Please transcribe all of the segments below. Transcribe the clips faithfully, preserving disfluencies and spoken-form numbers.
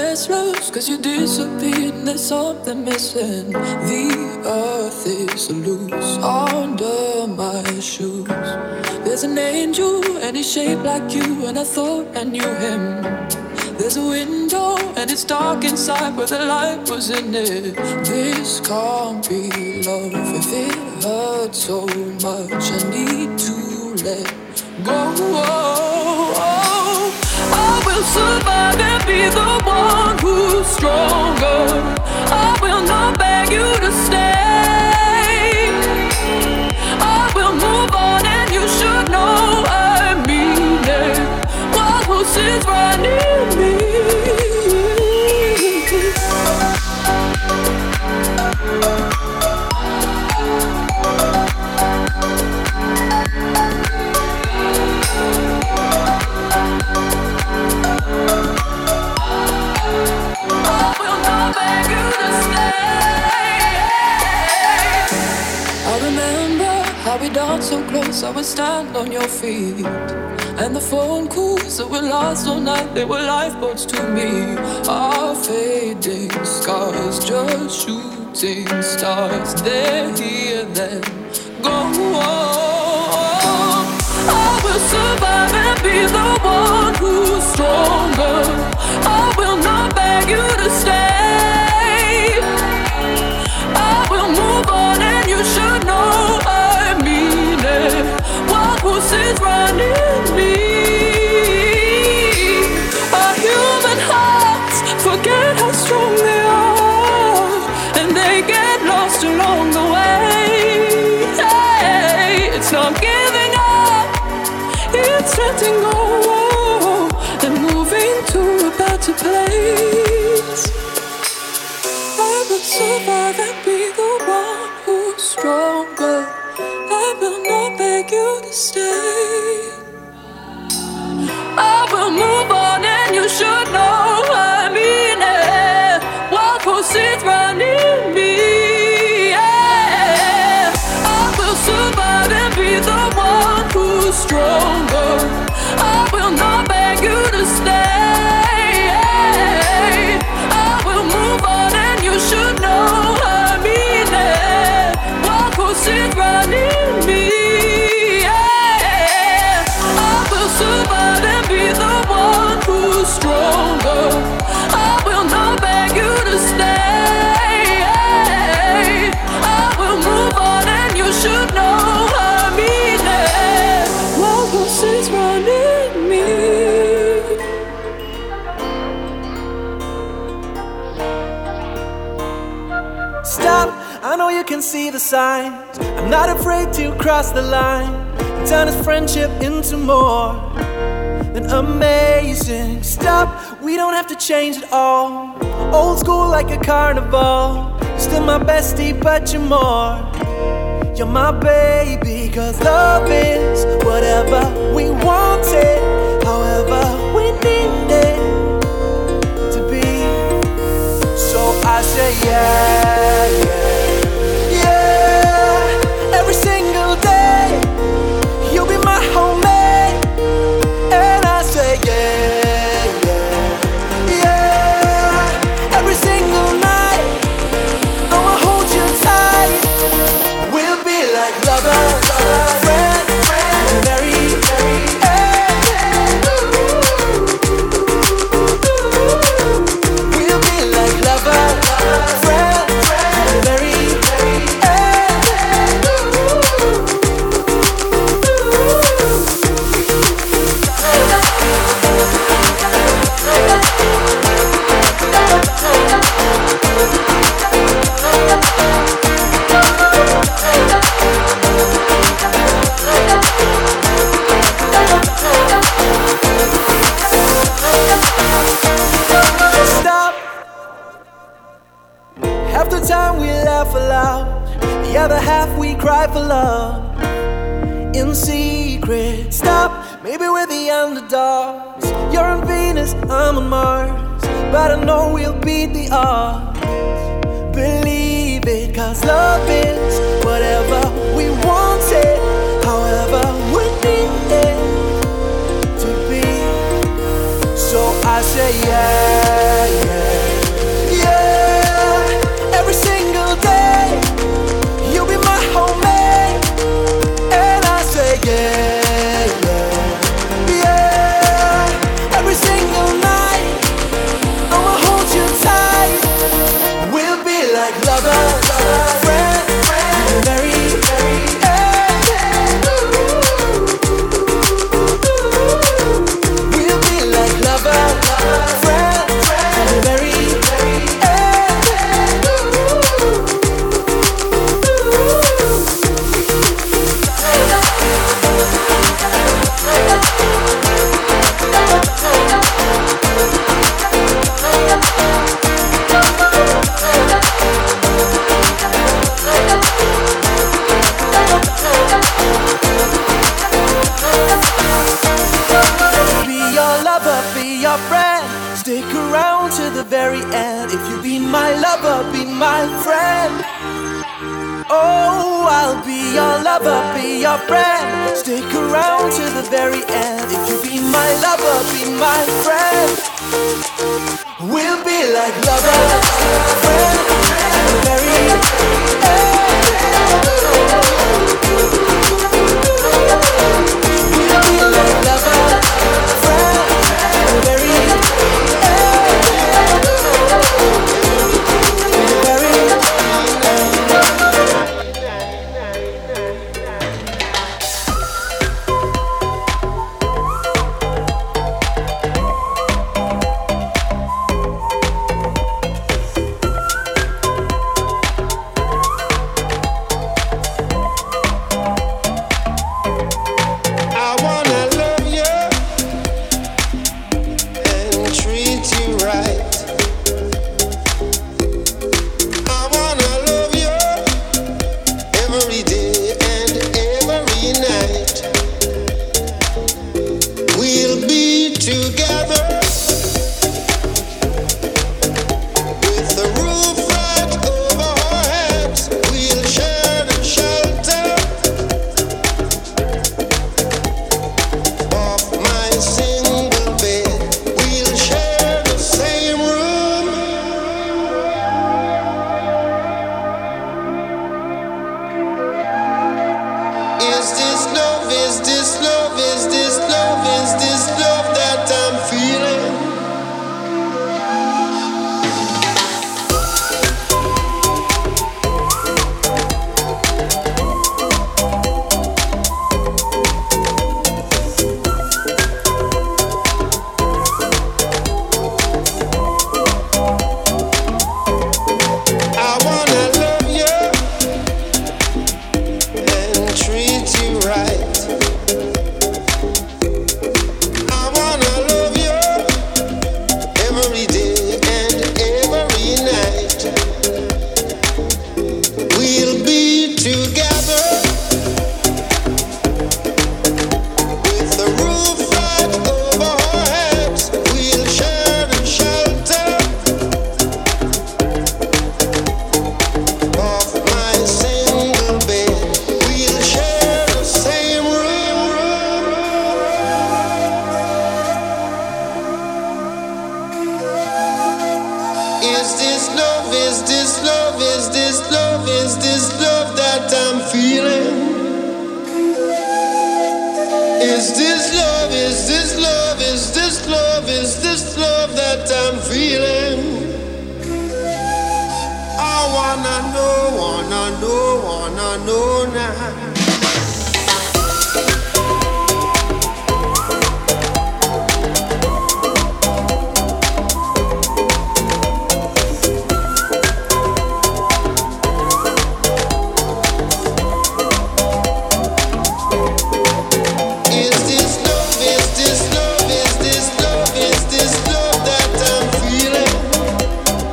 restless, cause you disappeared and there's something missing. The earth is loose under my shoes. There's an angel and he's shaped like you, and I thought I knew him. There's a window and it's dark inside, but the light was in it. This can't be love if it hurts so much. I need to let go. I will survive and be the one who's stronger. I will not beg you to stay. I will move on and you should know I mean it. What was it running me? We danced so close, I would stand on your feet. And the phone calls that would last all night, they were lifeboats to me. Our fading scars, just shooting stars. They're here, then go on. I will survive and be the one who's stronger. I will not beg you to stay. I will move on and you should know I mean it. What was it running me? Our human hearts forget how strong they are, and they get lost along the way. Hey, it's not giving up, it's letting go and moving to a better place. I will survive and be the one who's stronger. I will not beg you to stay. I will move on and you should know I mean it. What was it running me? Yeah. I will survive and be the one who's stronger. I will not beg you to stay. I will move on and you should know I mean it. What was it running me? Yeah. I will survive and be the one who's stronger. I will not beg you to stay. I will move on and you should know I mean it. What was it running me? Stop, I know you can see the signs. I'm not afraid to cross the line and turn this friendship into more than amazing. Stop, we don't have to change it all. Old school like a carnival. Still my bestie, but you're more. You're my baby, cause love is whatever we want it, however we need it to be. So I say yeah, yeah, yeah. Every single day you'll be my homemade. And I say yeah, yeah, yeah. Every single night I'ma hold you tight. We'll be like lovers, friend, friend, very, very, hey. We'll be like lovers, friend, friend, very, very, hey. Stop. Half the time we laugh aloud, the other half we cry for love in secret. Stop, maybe we're the underdogs. You're on Venus, I'm on Mars, but I know we'll beat the odds. Believe it, cause love is whatever we want it, however we need it to be. So I say yeah, yeah. the very end. If you be my lover, be my friend. Oh, I'll be your lover, be your friend. Stick around to the very end. If you be my lover, be my friend. We'll be like lovers, friend, and the very end. We'll be like lovers, friend, and the very end.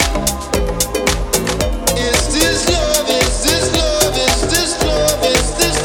Is this love? Is this love? Is this love? Is this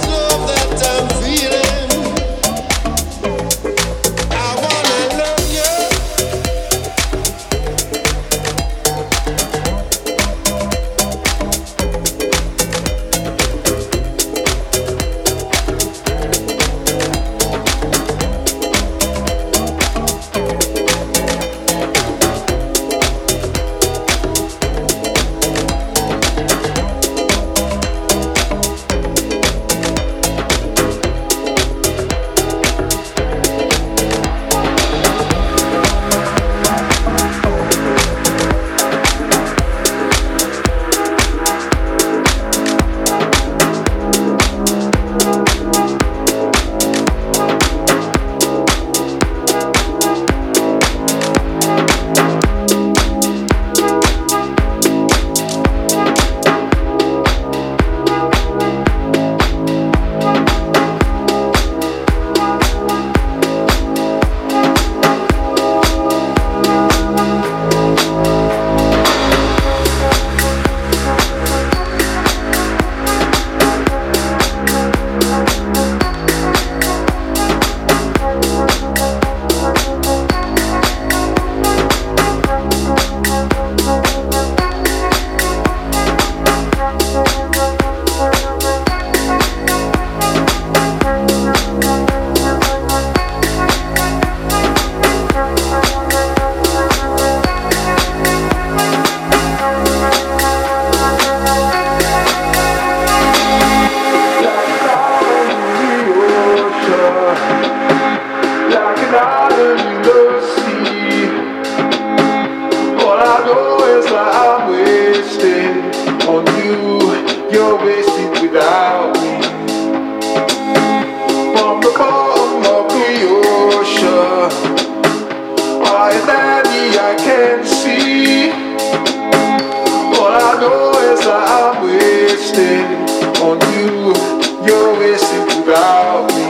All I know is that I'm wasted on you. You're wasted without me.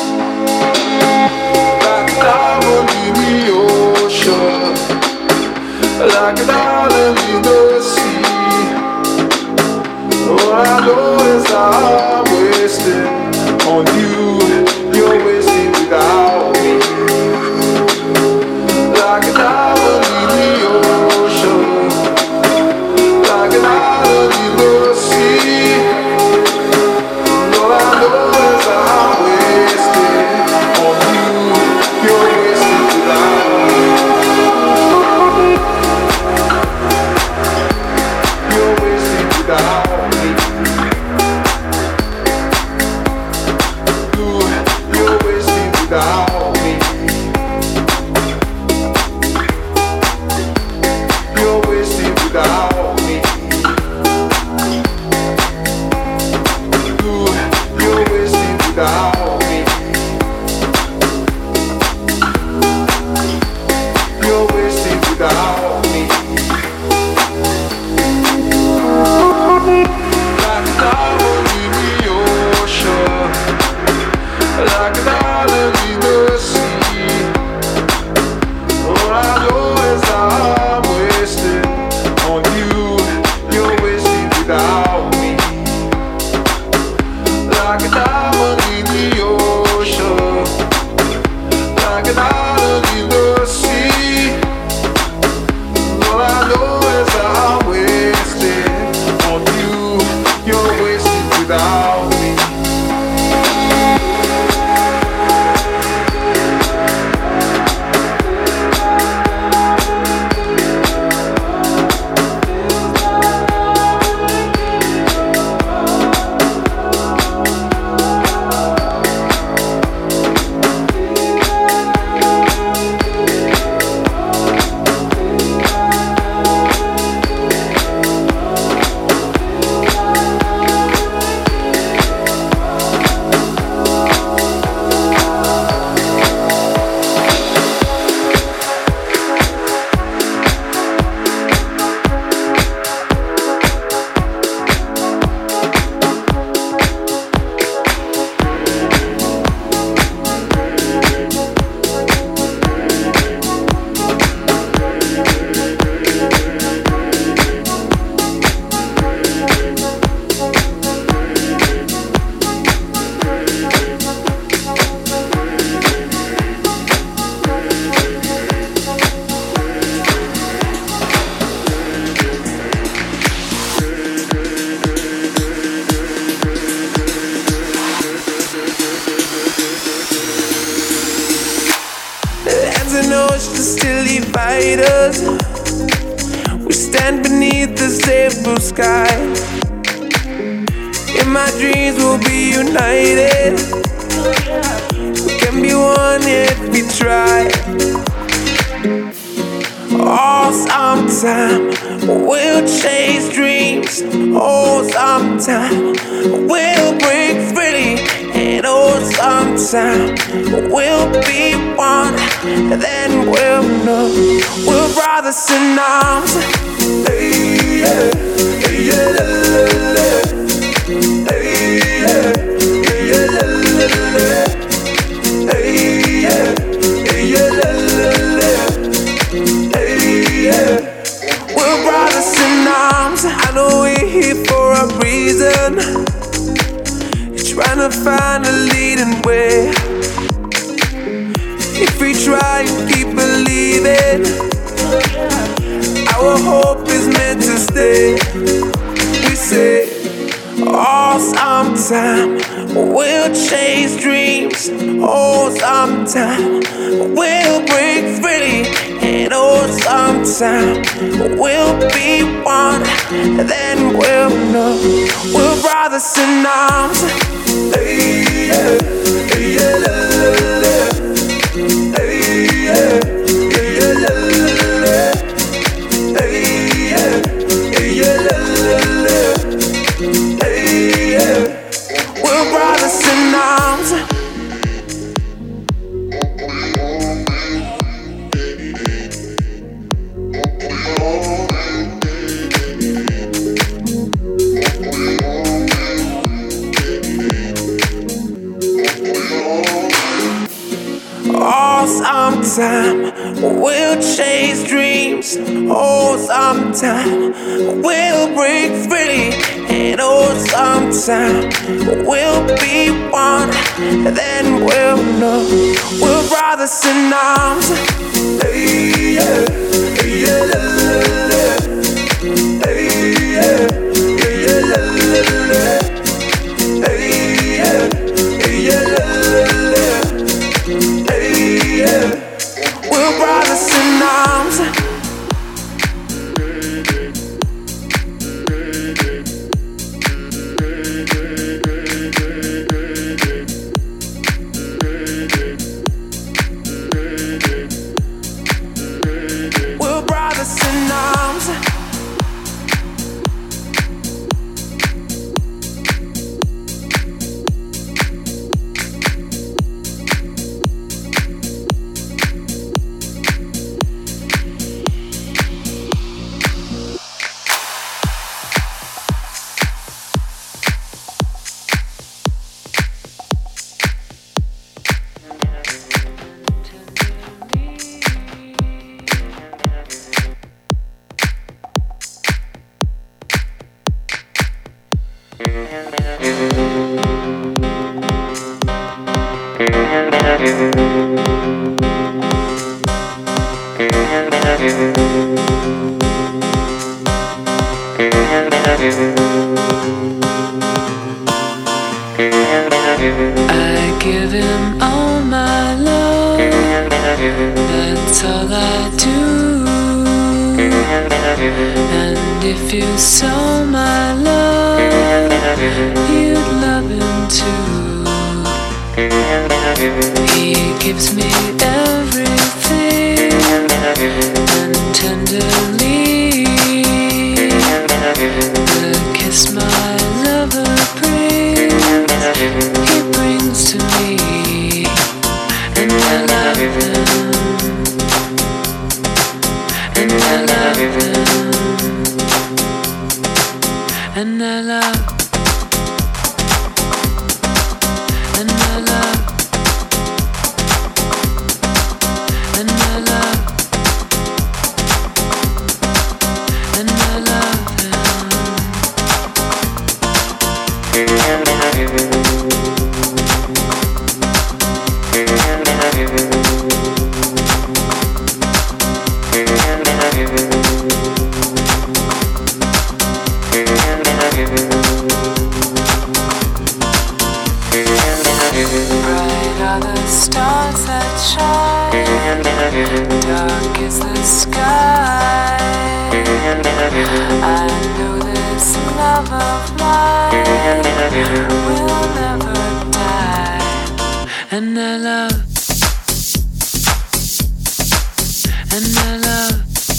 Like an island in the ocean, like an island in the sea. All I know is that I'm wasted on you. You're wasted without me. Like an island in the ocean, like an island in the sea. All I know is that I'm wasted on you. You're wasted without me. You're wasted without me. You, you're wasted without me. You're wasted without me. You, you're wasted without me. You're wasted without me. Like an island in the ocean, like an island in the sea. All I know is that I'm wasted on you. You're wasted without me. Like an island in the ocean, like an island in the sea. All I know is that I'm wasted on you. You're wasted without me. Lands and oceans still divide us. We stand beneath the same blue sky. In my dreams we'll be united. We can be one if we try. Oh, sometime we'll chase dreams. Oh, sometime we'll break free. And oh, sometime we'll be one. Then we'll know we're brothers in arms. Hey, yeah, hey, yeah, la, la, la. Hey, yeah, hey, yeah, la, la, la. Hey, yeah, hey, yeah, la, la, la. Yeah. We're brothers in arms. I know we're here for a reason. You're trying to find a leading way. If we try and keep believing, our hope is meant to stay. We say, oh, sometime we'll chase dreams. Oh, sometime we'll break free. And oh, sometime we'll be one. Then we'll know we're brothers in arms. Hey, yeah, hey, yeah, la, la, la. Hey, yeah, hey, yeah, la, la, la. Hey, yeah, hey, yeah, la, la, la. Hey, yeah, we're brothers in arms. Oh, sometime we'll break free, and oh, sometime we'll be one. Then we'll know we're brothers in arms. Hey, yeah, yeah, la, la, la. Hey, yeah, yeah, la, la, la. Hey, yeah, yeah, la, la, la. Hey, yeah, we're brothers in arms. I give him all my love, that's all I do. And if you saw my love, you'd love him too. He gives me everything, and tenderly the kiss my lover brings, he brings to me, and I love him, and I love him, and I love, and I love, and I love, and I love him. Bright are the stars that shine, dark is the sky. I know this love of mine will never die. And I love, and I love,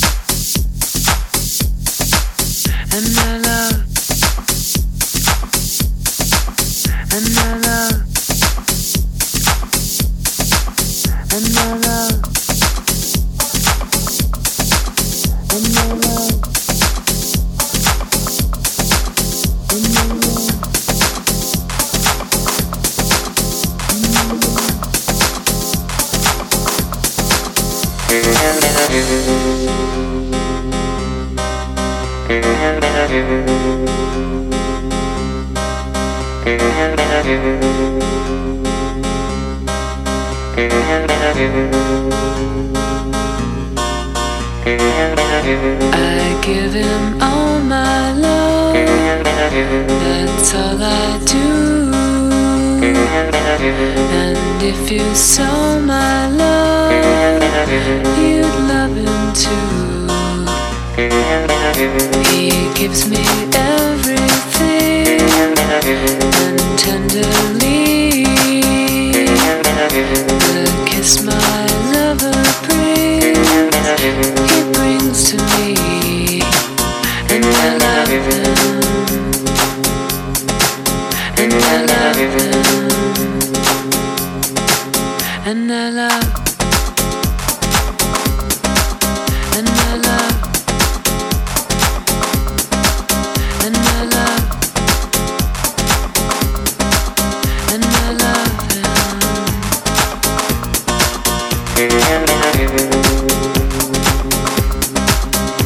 and I love, and I love, and I love, and I love, and I love. I give him all my love, that's all I do. And if you saw my love, you'd love him too. He gives me everything, and tenderly the kiss my lover brings, he brings to me, and I love him, and I love him, and I love, and I love, and I love, and I love him.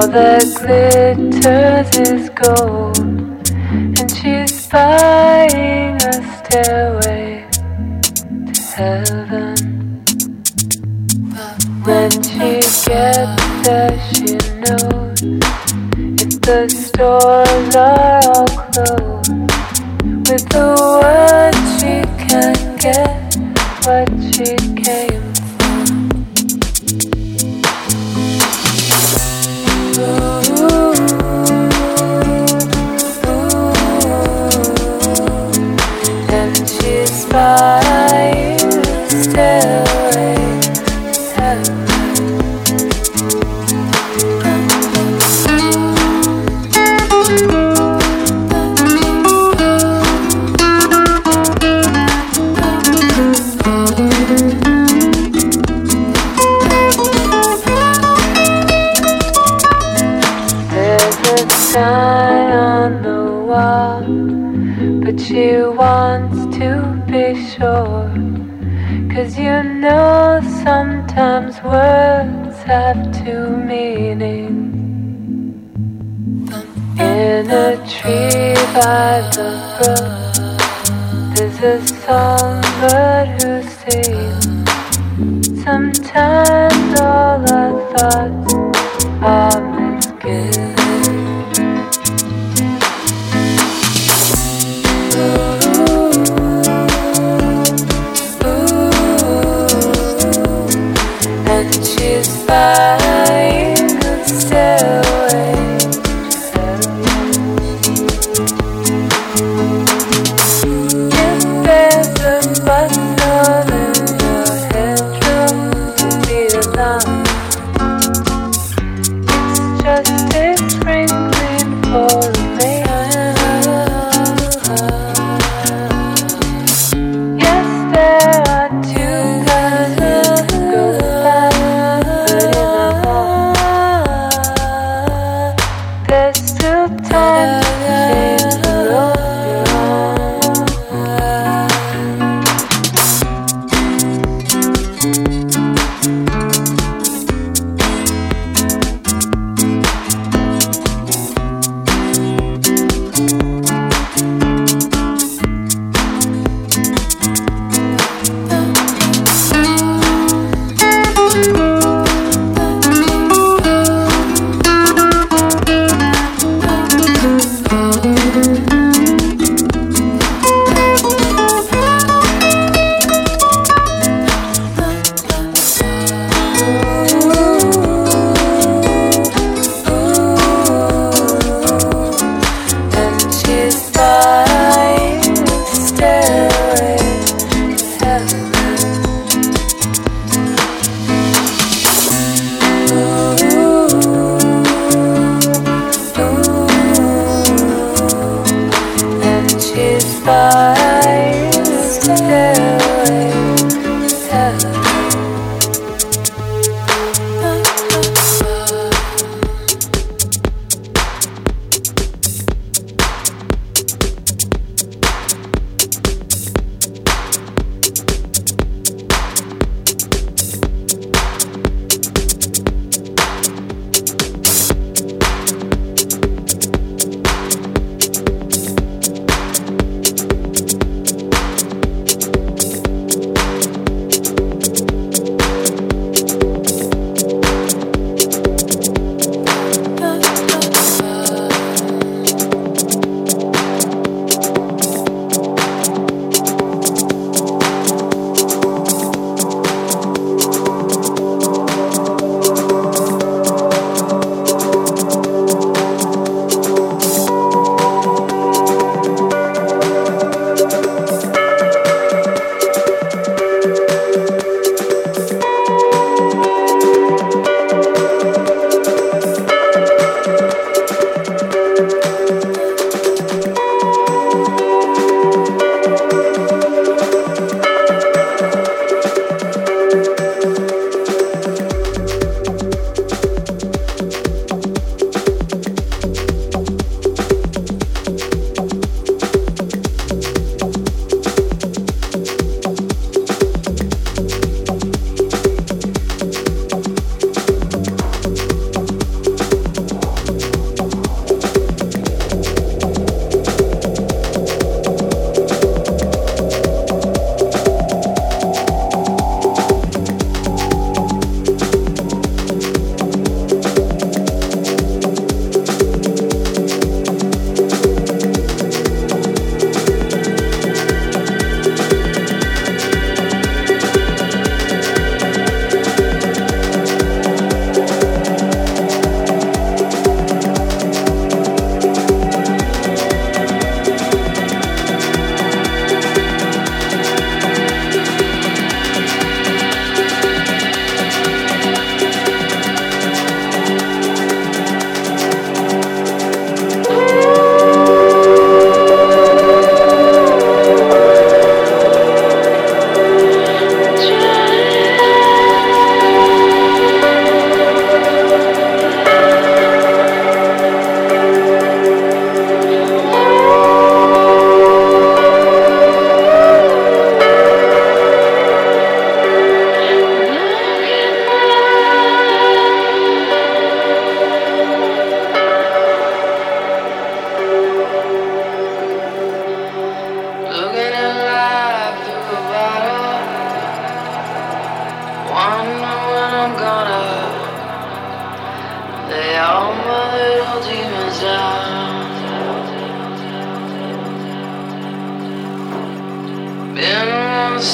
All that glitters is gold, and she's buying a stairway to heaven. When she gets there, she knows if the stores are all closed, with the word she can get what she came for. Ooh, ooh, and she's buying a stairway to heaven. Sign on the wall, but she wants to be sure, 'cause you know sometimes words have two meanings. In a tree by the brook, there's a songbird who sings. Sometimes all our thoughts are misgiven. She's buying a stairway to heaven. If there's a bustle in your headroom, don't be alarmed. It's just a sprinkling for me. Yes, there are two kinds of girls. There's still time to change the road you're on.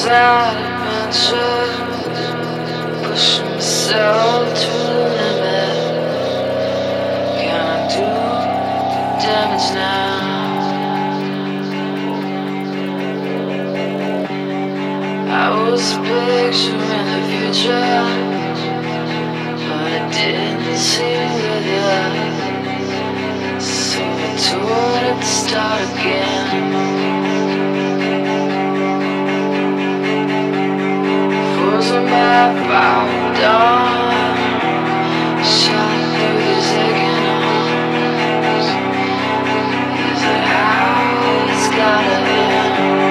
bad adventure, pushing myself to the limit. Can I do damage now? I was picturing the future, but it didn't seem good enough. So I told it to start again. Was a map out dawn, shot through these aching arms. Is it how it's gotta end?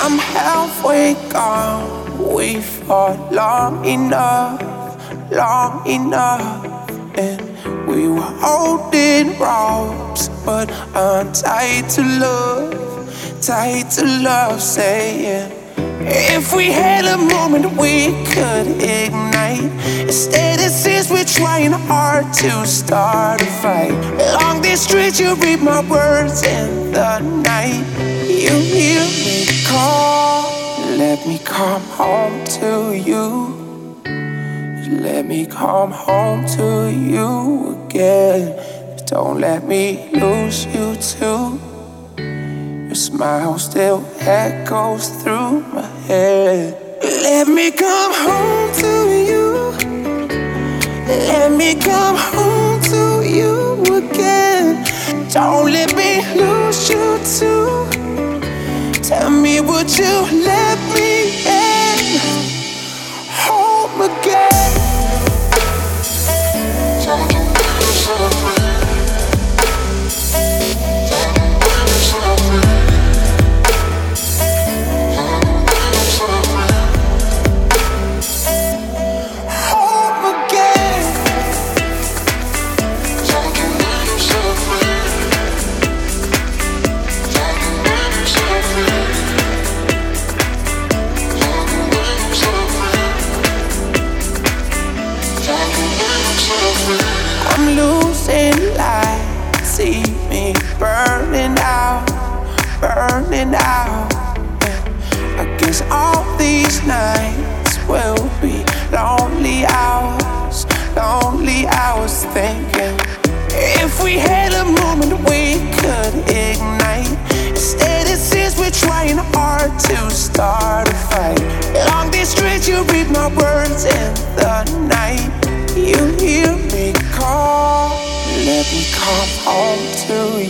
I'm halfway gone. We fought long enough, long enough, and we were holding ropes, but untied to love, tied to love, saying if we had a moment we could ignite. Instead it seems we're trying hard to start a fight. Along these streets you read my words in the night. You hear me call, let me come home to you. Let me come home to you again. Don't let me lose you too. Your smile still echoes through my head. Let me come home to you. Let me come home to you again. Don't let me lose you too. Tell me, would you let me in home again? Don't you make yourself free. I'm losing light, see me burning out, burning out. I guess all these nights will be lonely hours, lonely hours thinking if we had a moment we could ignite. Instead it seems we're trying hard to start a fight. Along these streets you read my words in the night. You hear me call, let me come home to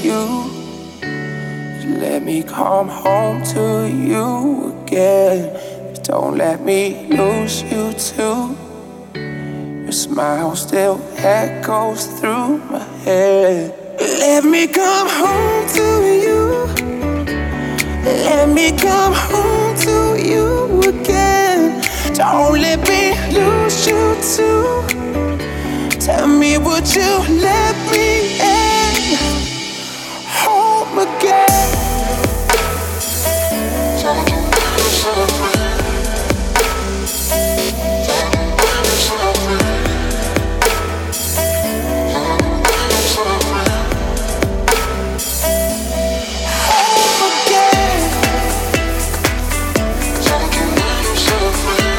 you. Let me come home to you again. Don't let me lose you too. Your smile still echoes through my head. Let me come home to you. Let me come home to you again. Don't let me lose you too. Tell me, would you let me in home again? Don't you make yourself free. Don't you make yourself free. Don't you make yourself free. Home again. Don't you make yourself free.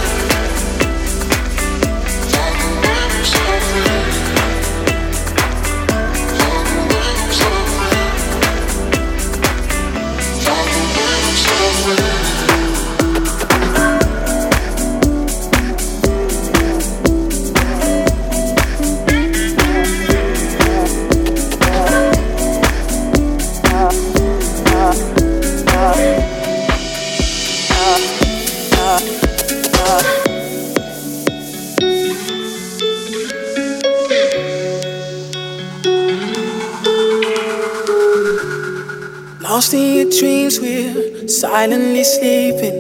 Don't you make yourself free. Lost in your dreams, we're silently sleeping.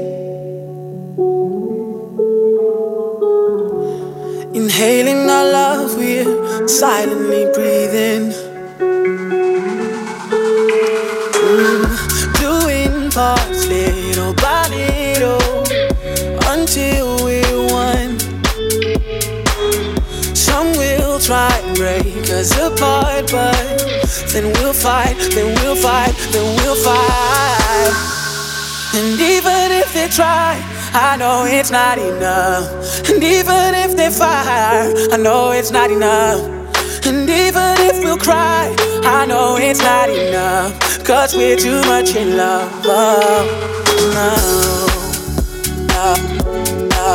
Inhaling our love, we're silently breathing. Mm, doing parts little by little until we're one. Some will try and break us apart, but then we'll fight, then we'll fight, then we'll fight. And even if they try, I know it's not enough. And even if they fire, I know it's not enough. And even if we'll cry, I know it's not enough. Cause we're too much in love. Oh, no, no, no,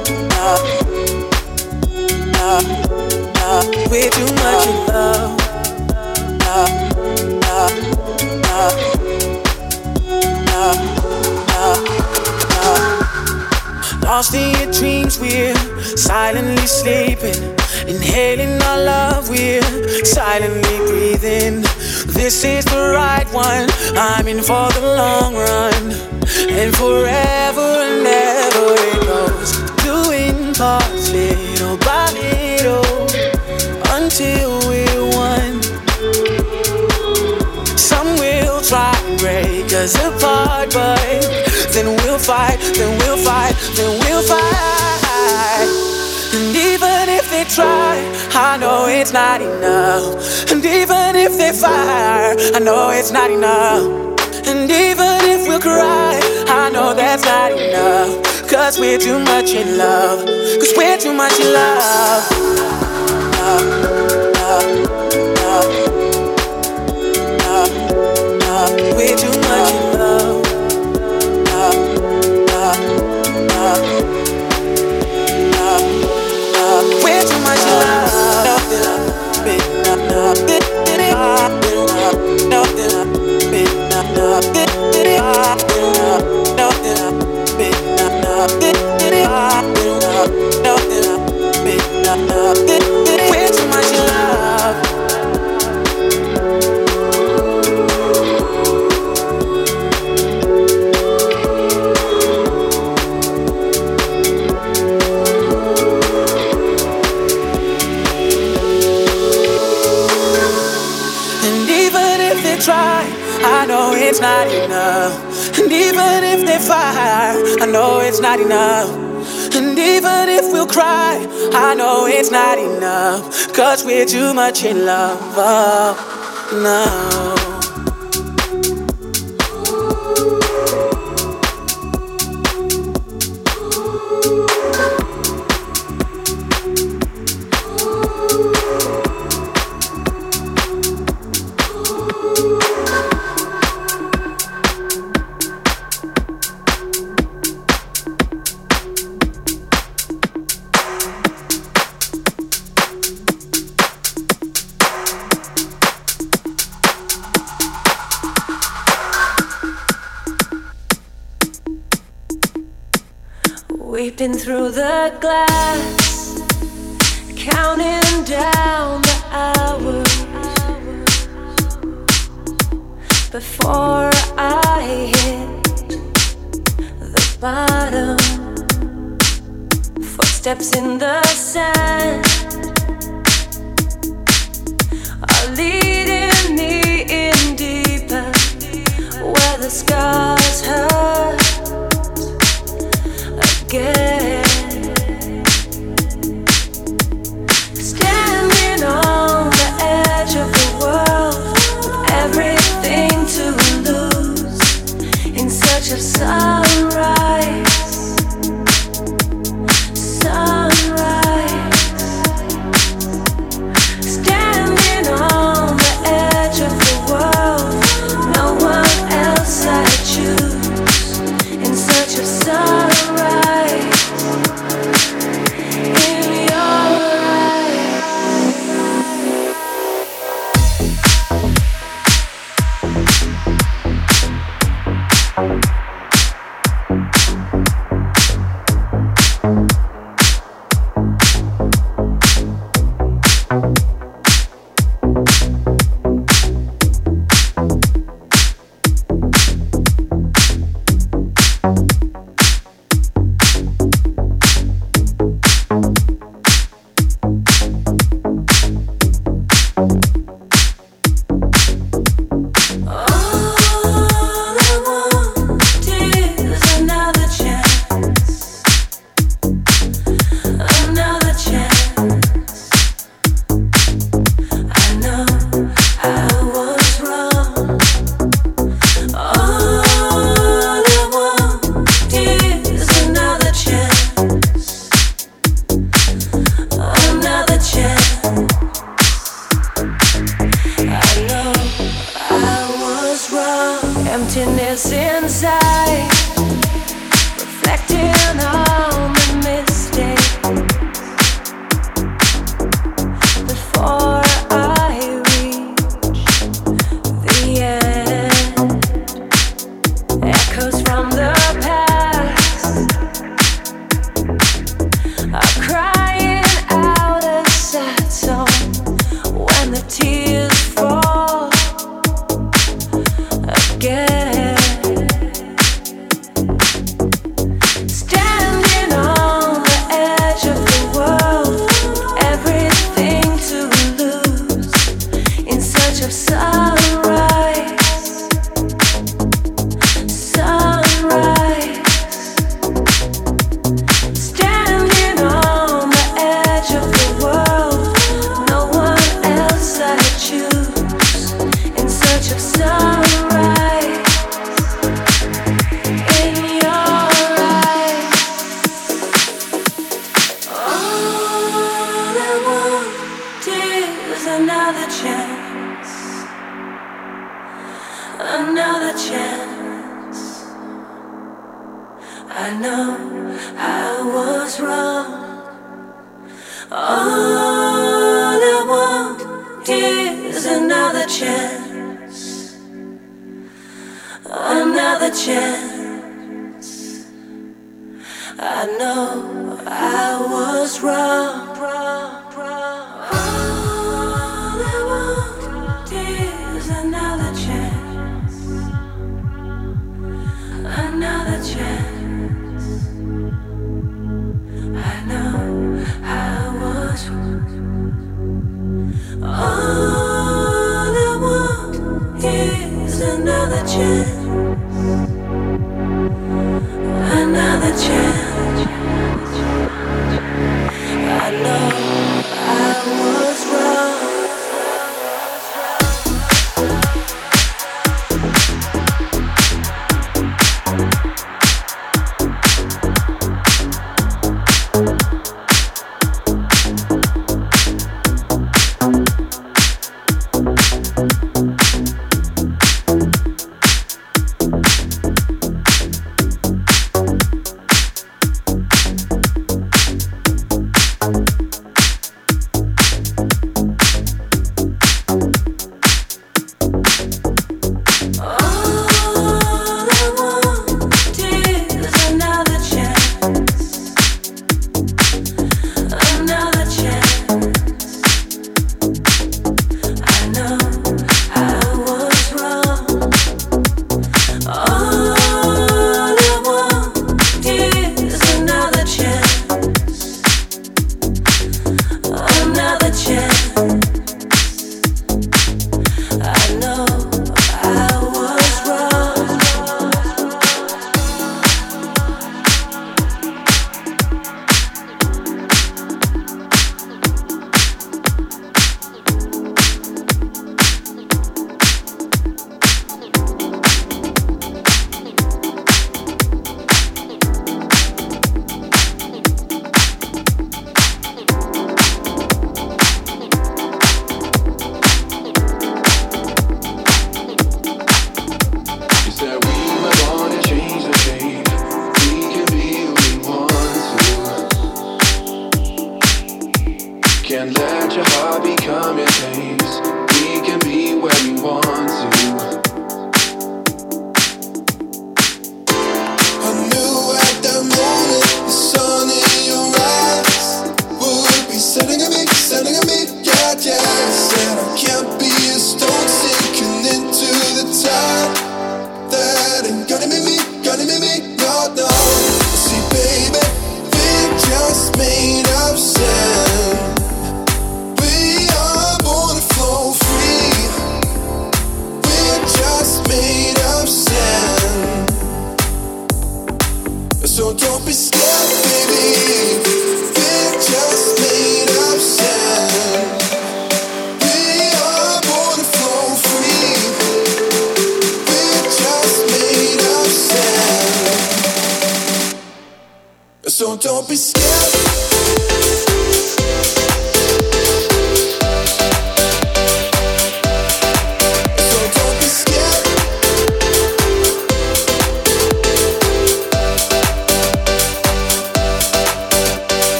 no, no. We're too much in love. No, no, no, no, no, no. Lost in your dreams, we're silently sleeping. Inhaling our love, we're silently breathing. This is the right one, I'm in for the long run. and forever and ever it goes. Doing parts little by little until we're one. Some will try and break us apart, but then we'll fight, then we'll fight, then we'll fight. And even if they try, I know it's not enough. And even if they fire, I know it's not enough. And even if we'll cry, I know that's not enough. Cause we're too much in love. Cause we're too much in love. Love, love, love, love, love. We're too much in love. Love, love, love, love, love. We're too much in love. Nothing up, bit, not nothing, did it up, nothing up, bit, not nothing, did it up, nothing up, bit, not nothing, did it up, nothing up, bit, not nothing, did it. We're too much in love. Try, I know it's not enough. And even if they fire, I know it's not enough. And even if we'll cry, I know it's not enough. Cause we're too much in love. Oh, no. We've been through the glass, counting down the hours before I hit the bottom. Footsteps in the sand are leading me in deeper, where the scars hurt again. Standing on the edge of the world with everything to lose, in search of sunrise, sunrise. Standing on the edge of the world, no one else I choose, in search of sunrise. Emptiness inside, reflecting on the mistake before I reach the end. Echoes from the past are crying out a sad song when the tears fall again. I know I was wrong. All I want is another chance, another chance. I know I was wrong. All I want is another chance, another chance. I know I was wrong. All I want is another chance, another chance. I know I was wrong.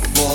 boy.